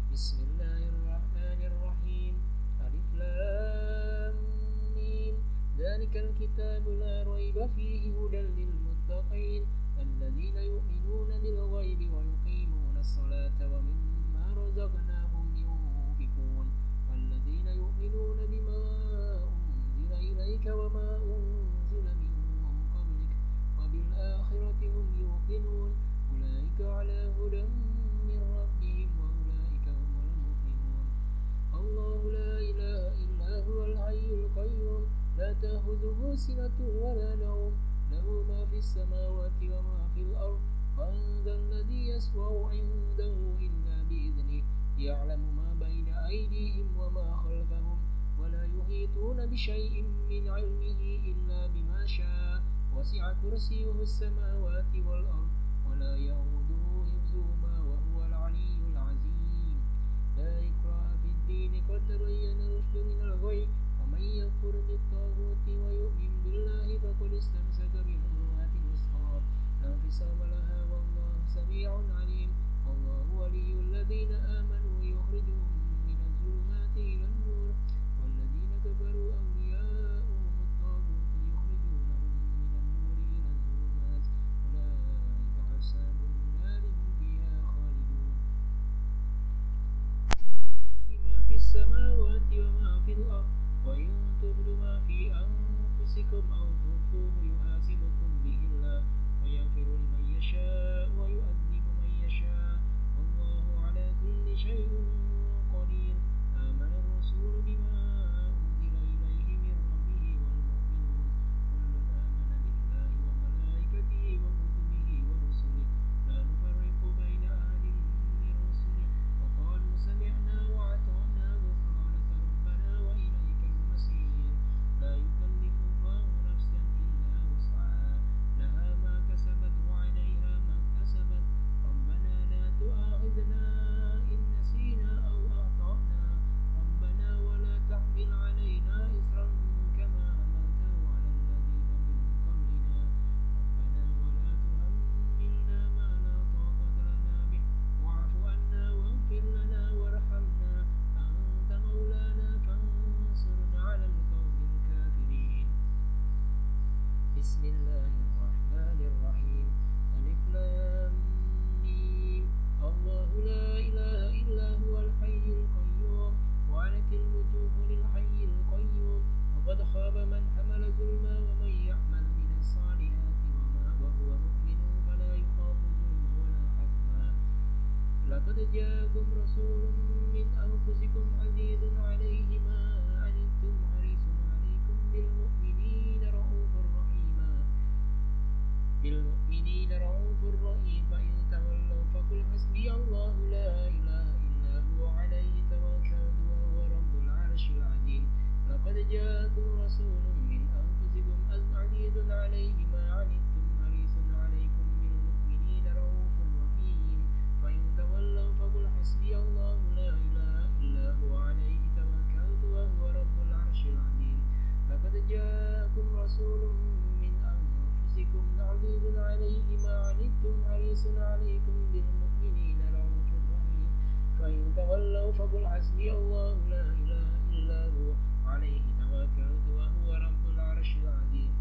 بسم الله الرحمن الرحيم. ألف لام ميم. ذلك الكتاب لا ريب فيه هدى للمتقين الذين يؤمنون بالغيب ويقيمون الصلاة ومما رزقناهم ينفقون والذين يؤمنون بما أنزل إليك وما أنزل من قبلك وبالآخرة هم يوقنون أولئك على هدى من ربهم وأولئك هم المفلحون. الله لا إله إلا هو الحي القيوم لا تأخذه سنة ولا نوم له ما في السماوات وما في الأرض من ذا الذي يشفع عنده إلا بإذنه يعلم ما بين أيديهم وما خلفهم ولا يحيطون بشيء من علمه إلا بما شاء وسع كرسيه السماوات والأرض ولا يؤوده حفظهما وهو العلي العظيم. لا إكراه في الدين قد تبين الرشد من الغي ومن يكفر بالطاغوت ويؤمن بالله فقد استمسك بالعروة الوثقى لا انفصام لها والله سميع عليم. الله ولي الذين آمنوا يخرجهم من الظلمات إلى النور والذين كفروا أولياؤهم الطاغوت يخرجونهم من النور إلى الظلمات أولئك أصحاب النار هم فيها خالدون. لله ما في السماوات وما في الأرض وإن تبدوا ما في أنفسكم أو تخفوه يحاسبكم به الله ويغفر لمن يشاء ويؤذب من يشاء والله على كل شيء قدير. آمن الرسول بما أنزل إليه من ربه والمؤمنون كل آمن بالله وملائكته وكتبه ورسله لا نفرق بين أحد من رسله وقالوا سمعنا وأطعنا غفرانك ربنا وإليك المصير. لا يكلف الله نفسا إلا وسعها لها ما كسبت وعليها ما اكتسبت ربنا لا تؤاخذنا إن نسينا أو أخطأنا ربنا ولا تحمل علينا إصرا كما حملته على الذين من قبلنا ربنا ولا تحملنا ما لا طاقة لنا به واعف عنا واغفر لنا وارحمنا أنت مولانا فانصرنا على القوم الكافرين. بسم الله الرحمن الرحيم. ألف لام ميم. الله لا إله إلا هو الحي القيوم وعنت الوجوه للحي القيوم وقد خاب من حمل ظلما ومن يعمل من الصالحات وهو مؤمن فلا يخاف ظلما ولا حظما. لقد جاءكم رسول من أنفسكم عزيز عليه ما عنتم حريص عليكم بالمؤمنين رؤوف رحيم فإن تولوا فقل حسبي الله لا إله إلا هو عليه توكلت وهو رب العرش العظيم. لقد جاءكم رسول من أنفسكم عزيز عليه ما عنتم حريص عليكم بالمؤمنين رؤوف رحيم فإن تولوا فقل حسبي الله لا إله إلا هو عليه توكلت وهو رب العرش العظيم. لقد جاءكم رسول من أنفسكم عزيز عليه ما عنتم حريص عليكم بالمؤمنين رؤوف رحيم فإن تولوا فقل حسبي الله لا إله إلا هو عليه توكلت وهو رب العرش العظيم.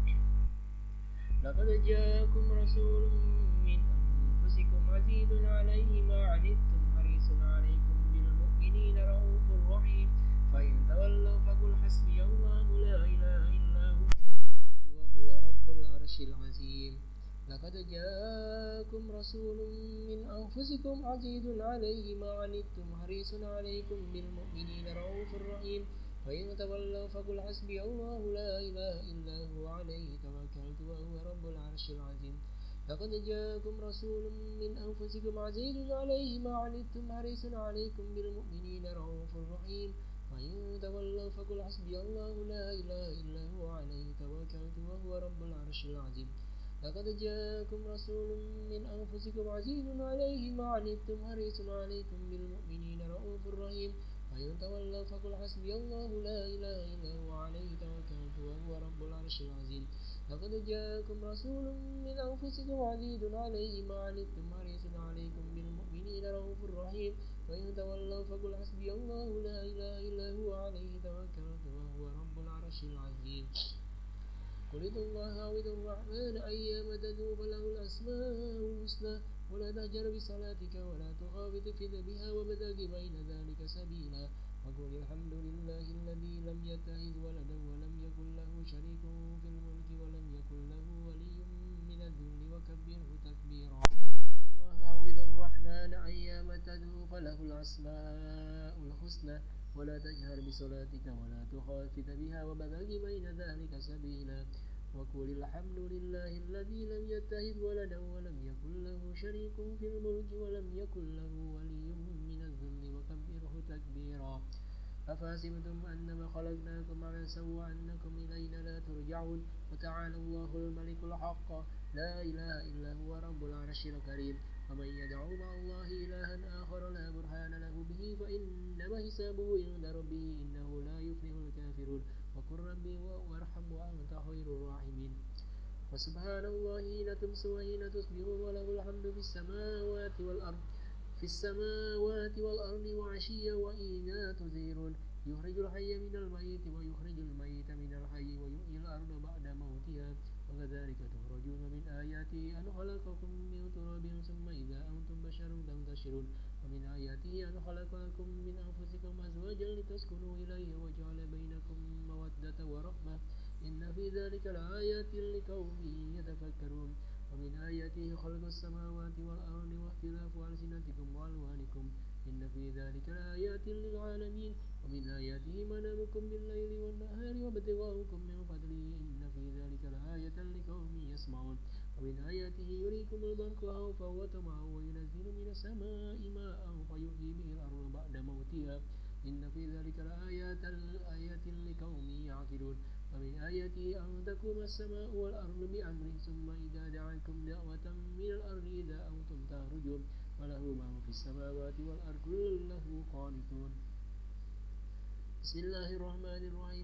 لقد جاءكم رسول من أنفسكم عزيز عليه ما عنتم حريص عليكم بالمؤمنين رؤوف رحيم فإن تولوا فقل حسبي الله لا إله إلا هو وهو رب العرش العظيم. لقد جاءكم رسول من أنفسكم عزيز عليه ما عنتم حريص عليكم بالمؤمنين رؤوف رحيم فإن تولوا فقل حسبي الله لا إله إلا هو عليه توكلت وهو رب العرش العظيم. لقد جاءكم رسول من أنفسكم عزيز عليه ما عنتم حريص عليكم بالمؤمنين رؤوف رحيم فإن تولوا فقل حسبي الله لا إله إلا هو عليه توكلت وهو رب العرش العظيم. لقد جاءكم رسول من أنفسكم عزيز عليه ما عنتم حريص عليكم بالمؤمنين رؤوف رحيم فإن تولوا فقل حسبي الله لا إله إلا هو عليه توكلت وهو رب العرش العظيم. لقد جاءكم رسول من أنفسكم عزيز عليه ما عنتم حريص عليكم بالمؤمنين رؤوف رحيم وإن تولوا فقل حسبي الله لا إله إلا هو عليه توكلت وهو رب العرش العظيم قل ادعوا الله أو ادعوا الرحمن أيما تدعوا فله الأسماء الحسنى ولا تجهر بصلاتك ولا تخافت بها وابتغ بين ذلك سبيلا وقل الحمد لله الذي لم يتخذ ولدا ولم يكن له شريك في الملك ولم يكن له ولي من الذل وكبره تكبيرا قل ادعوا الله أو ادعوا الرحمن أيما تدعوا فله الأسماء الحسنى ولا تجهر بصلاتك ولا تخافت بها وابتغ بين ذلك سبيلا وقل الحمد لله الذي لم يتخذ ولدا ولم يكن له شريك في الملك ولم يكن له ولي من الذل وكبره تكبيرا أفحسبتم أنما خلقناكم عبثا وأنكم إلينا لا ترجعون وتعالى الله الملك الحق لا إله إلا هو رب العرش الكريم ومن يدعو مع الله إلها آخر لا برهان له به فإنما حسابه عند ربه إنه لا يفلح الكافرون وقل ربي وارحم وأنت خير الراحمين وسبحان الله حين تمسون وحين تصبحون وله الحمد في السماوات والأرض وعشيا وحين تظهرون يخرج الحي من الميت ويخرج الميت من الحي ويحيي الأرض بعد موتها وكذلك تخرجون من آياته أن خلقكم من تراب ثم إذا أنتم بشر تنتشرون ومن آياته أن خلق لكم من أنفسكم أزواجا لتسكنوا إليه وجعل بينكم مودة ورحمة إن في ذلك لآيات لقوم يتفكرون ومن آياته خلق السماوات والأرض واختلاف ألسنتكم وألوانكم إن في ذلك لآيات للعالمين ومن آياته منامكم بالليل والنهار وابتغاؤكم من فضله إن في ذلك لآية لقوم يسمعون ومن آياته يريكم البرق خوفا وطمعا وينزل من السماء ماء فيحيي به الأرض بعد موتها إن في ذلك لآيات لقوم يعقلون ومن آياته أن تقوم السماء والأرض بأمره ثم إذا دعاكم دعوة من الأرض إذا أنتم تخرجون وله ما في السماوات والأرض كل له قانتون بسم الله الرحمن الرحيم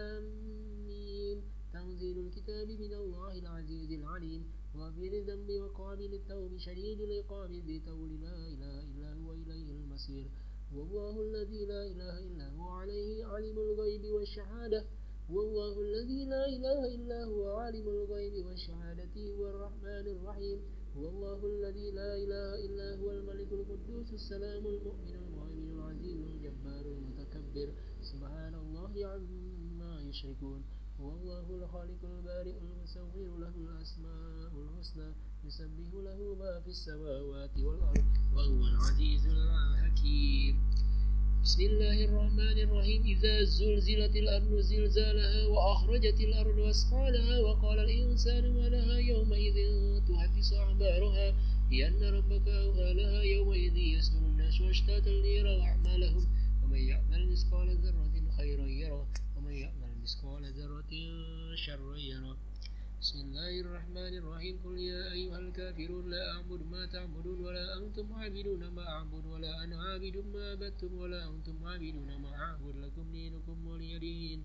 حميم تنزيل الكتاب من الله العزيز العليم غفير الذنب وقابل التوب شديد العقاب ذي طول لا إله إلا هو إليه المصير والله الذي لا إله إلا هو عليه علم الغيب والشهادة والله الذي لا إله إلا هو عالم الغيب والشهادة هو الرحمن الرحيم والله الذي لا إله إلا هو الملك القدوس السلام المؤمن المهيمن العزيز الجبار المتكبر سبحان الله عما يشركون هو الله الخالق البارئ المصور له الأسماء الحسنى يسبح له ما في السماوات والأرض وهو العزيز الحكيم بسم الله الرحمن الرحيم إذا زلزلت الأرض زلزالها وأخرجت الأرض أثقالها وقال الإنسان ما لها يومئذ تحدث أخبارها لأن ربك أوحى لها يومئذ يصدر الناس أشتاتا ليروا أعمالهم ومن يعمل مثقال ذرة خيرا يره ومن يعمل مثقال ذرة شرا يره بسم الله الرحمن الرحيم قل يا أيها الكافرون لا أعبد ما تعبدون ولا أنتم عابدون ما أعبد ولا أنا عابد ما عبدتم ولا أنتم عابدون ما أعبد لكم دينكم ولي دين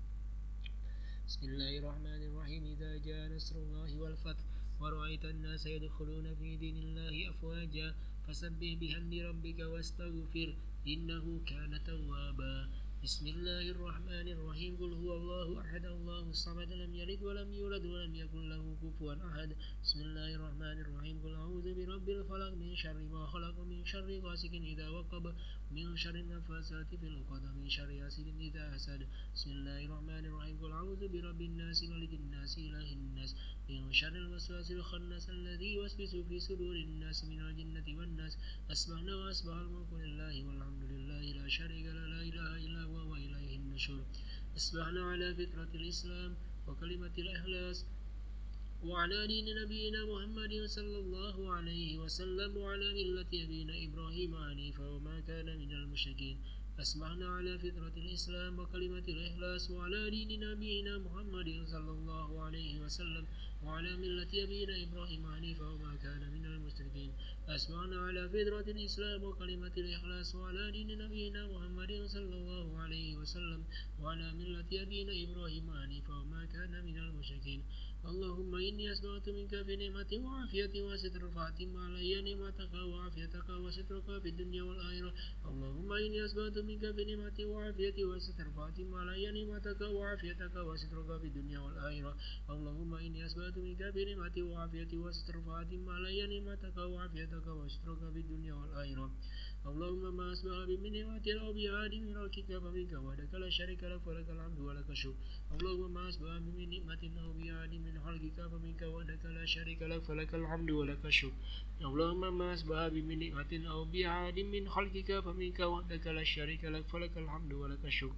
بسم الله الرحمن الرحيم إذا جاء نصر الله والفتح ورأيت الناس يدخلون في دين الله أفواجا فسبح بحمد ربك واستغفر إنه كان توابا بسم الله الرحمن الرحيم قل هو الله أحد الله الصمد لم يلد ولم يولد ولم يكن له كفوا أحد بسم الله الرحمن الرحيم قل أعوذ برب الفلق من شر ما خلق من شر غاسق إذا وقب من شر النفاثات في العقد من شر حاسد إذا حسد بسم الله الرحمن الرحيم قل أعوذ برب الناس ملك الناس إله الناس من شر الوسواس الخناس الذي يوسوس في صدور الناس من الجنة والناس أسمعنا وأصبح الملك لله والحمد لله لا شريك له لا إله إلا هو وإليه النشور أصبحنا على فطرة الإسلام وكلمة الإخلاص وعلى دين نبينا محمد صلى الله عليه وسلم وعلى ملة أبينا إبراهيم حنيفا وما كان من المشركين أصبحنا على فطرة الإسلام وكلمة الإخلاص وعلى دين نبينا محمد صلى الله عليه وسلم وعلى ملة أبينا إبراهيم حنيفا وما كان من المشركين. أصبحنا على فطرة الإسلام وكلمة الإخلاص وعلى دين نبينا محمد صلى الله عليه وسلم وعلى ملة أبينا إبراهيم حنيفا وما كان من المشركين. اللهم إني أسمعت منك بنعمة وعافية وستر فاتم علي نعمتك وعافيتك وسترك في الدنيا والآخرة. اللهم إني أسمعت منك بنعمة وعافية وستر فاتم علي نعمتك وعافيتك وسترك في الدنيا والآخرة. اللهم إني أسمعت منك بنعمة وعافية وستر فاتم علي نعمتك وعافيتك وسترك في الدنيا والآخرة. اللهم ما أسمع بمن نعمة أو بعاد من ملكك فمنك وحدك لا شريك لك فلك الحمد ولك الشكر. اللهم ما أسمع بمن نعمة أو بعاد من خلقك فمنك وحدك لا شريك لك فلك الحمد ولك الشكر. اللهم ما أسمع بمن نعمة أو بعاد من خلقك فمنك وحدك لا شريك لك فلك الحمد ولك الشكر.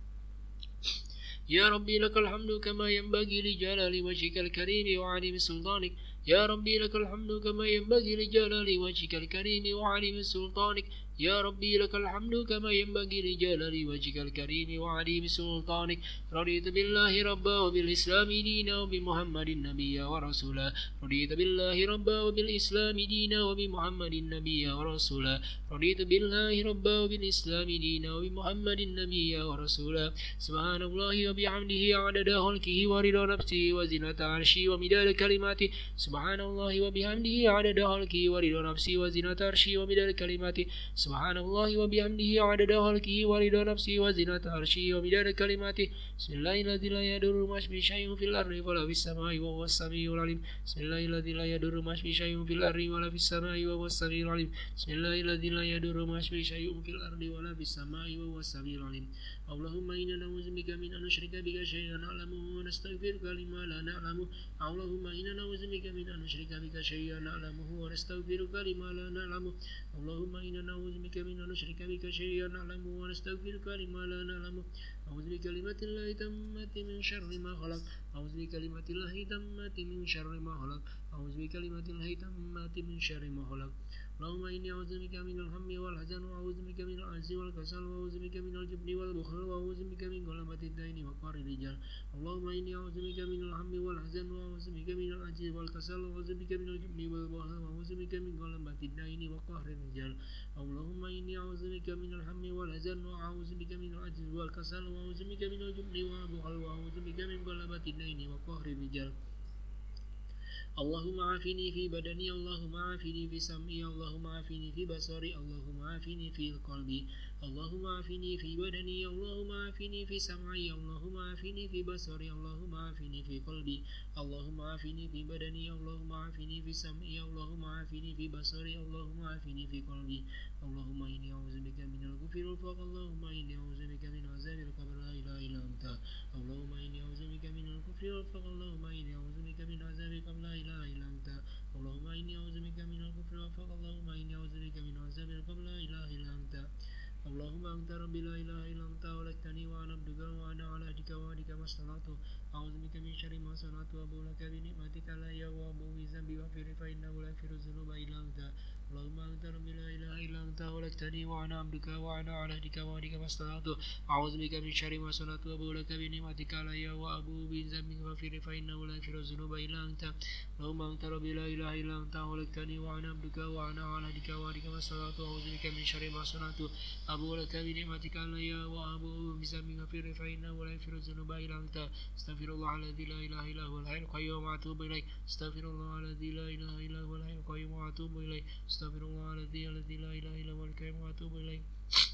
يا ربي لك الحمد كما ينبغي لجلال وجهك الكريم وعظيم سلطانك. يا ربي لك الحمد كما ينبغي لجلال وجهك الكريم وعظيم سلطانك. يا ربي لك الحمد كما ينبغي لجلال وجهك الكريم وعظيم سلطانك. رضيت بالله ربا وبالإسلام دينا وبمحمد نبيا ورسولا. رضيت بالله ربا وبالإسلام دينا وبمحمد نبيا ورسولا. رضيت بالله ربا وبالإسلام دينا وبمحمد نبيا ورسولا. سبحان الله وبحمده عدد خلقه ورضا نفسه وزنة عرشه ومداد كلماته. سبحان الله وبحمده عدد خلقه ورضا نفسه وزنة عرشه ومداد كلماته. سبحان الله وبحمده عدد خلقه ورضا نفسه وزنة عرشه ومداد كلماته. بسم الله الذي لا يضر مع اسمه شيء في الأرض ولا في السماء وهو السميع العليم. بسم الله الذي لا يضر مع اسمه شيء في الأرض ولا في السماء وهو السميع العليم. بسم الله الذي لا يضر مع اسمه شيء في الأرض ولا في السماء وهو السميع العليم. اللهم إنا نعوذ بك من أن نشرك بك شيئا نعلمه ونستغفرك لما لا نعلمه. اللهم إنا نعوذ بك من أن نشرك بك شيئا نعلمه ونستغفرك لما لا نعلمه. اللهم إنا نعوذ بك من أن نشرك بك شيئا نعلمه ونستغفرك لما لا نعلمه. أعوذ بكلمات الله تامة من شر ما خلق. أعوذ بكلمات الله تامة من شر ما خلق. أعوذ بكلمات الله تامة من شر ما خلق. اللهم إني أعوذ بك من الهم والحزن وأعوذ بك من العجز والكسل وأعوذ بك من الجبن والبخل وأعوذ بك من غلبة الدين وقهر الرجال. اللهم إني أعوذ بك من الهم والحزن وأعوذ بك من العجز والكسل وأعوذ بك من الجبن والبخل وأعوذ بك من غلبة الدين وقهر الرجال. اللهم إني أعوذ بك من الهم والحزن وأعوذ بك من العجز والكسل وأعوذ بك من الجبن والبخل وأعوذ بك من غلبة الدين وقهر الرجال. اللهم عافني في بدني. اللهم عافني في سمعي. اللهم عافني في بصري. اللهم عافني في قلبي. اللهم عافني في بدني. اللهم عافني في سمعي. اللهم عافني في بصري. اللهم عافني في قلبي. اللهم عافني في بدني. اللهم عافني في سمعي. اللهم عافني في بصري. اللهم عافني في قلبي. اللهم إني أعوذ بك من الكفر والفقر. اللهم إني أعوذ بك من عذاب القبر لا إله إلا أنت. اللهم إني أعوذ بك من الكفر والفقر. اللهم إني أعوذ بك من عذاب القبر لا إله إلا أنت. اللهم إني أعوذ بك من الكفر والفقر. اللهم إني أعوذ بك من عذاب القبر لا إله إلا أنت. اللهم أنت ربي لا إله إلا أنت خلقتني وأنا عبدك وأنا على عهدك ووعدك ما استطعت. أعوذ بك من شر ما صنعت وأبوء لك بنعمتك علي وأبوء بذنبي فاغفر فإنه لا يغفر الذنوب إلا أنت. اللهم أنت ربي لا إله إلا أنت خلقتني وأنا عبدك وأنا على عهدك ووعدك ما استطعت. أعوذ بك من شر ما صنعت وأبوء لك بنعمتك علي وأبوء بذنبي فاغفر فإنه لا يغفر الذنوب إلا أنت. اللهم أنت ربي لا إله إلا أنت خلقتني وأنا عبدك وأنا على عهدك ووعدك ما استطعت. أعوذ بك من شر ما صنعت أبوء لك بنعمتك علي وأبوء بذنبي فاغفر فإنه لا يغفر الذنوب إلا أنت. استغفر الله الذي لا إله إلا هو الحي القيوم وأتوب إليه. استغفر الله الذي لا إله إلا هو الحي القيوم وأتوب إليه. استغفر الله الذي لا إله إلا هو الحي القيوم وأتوب إليه.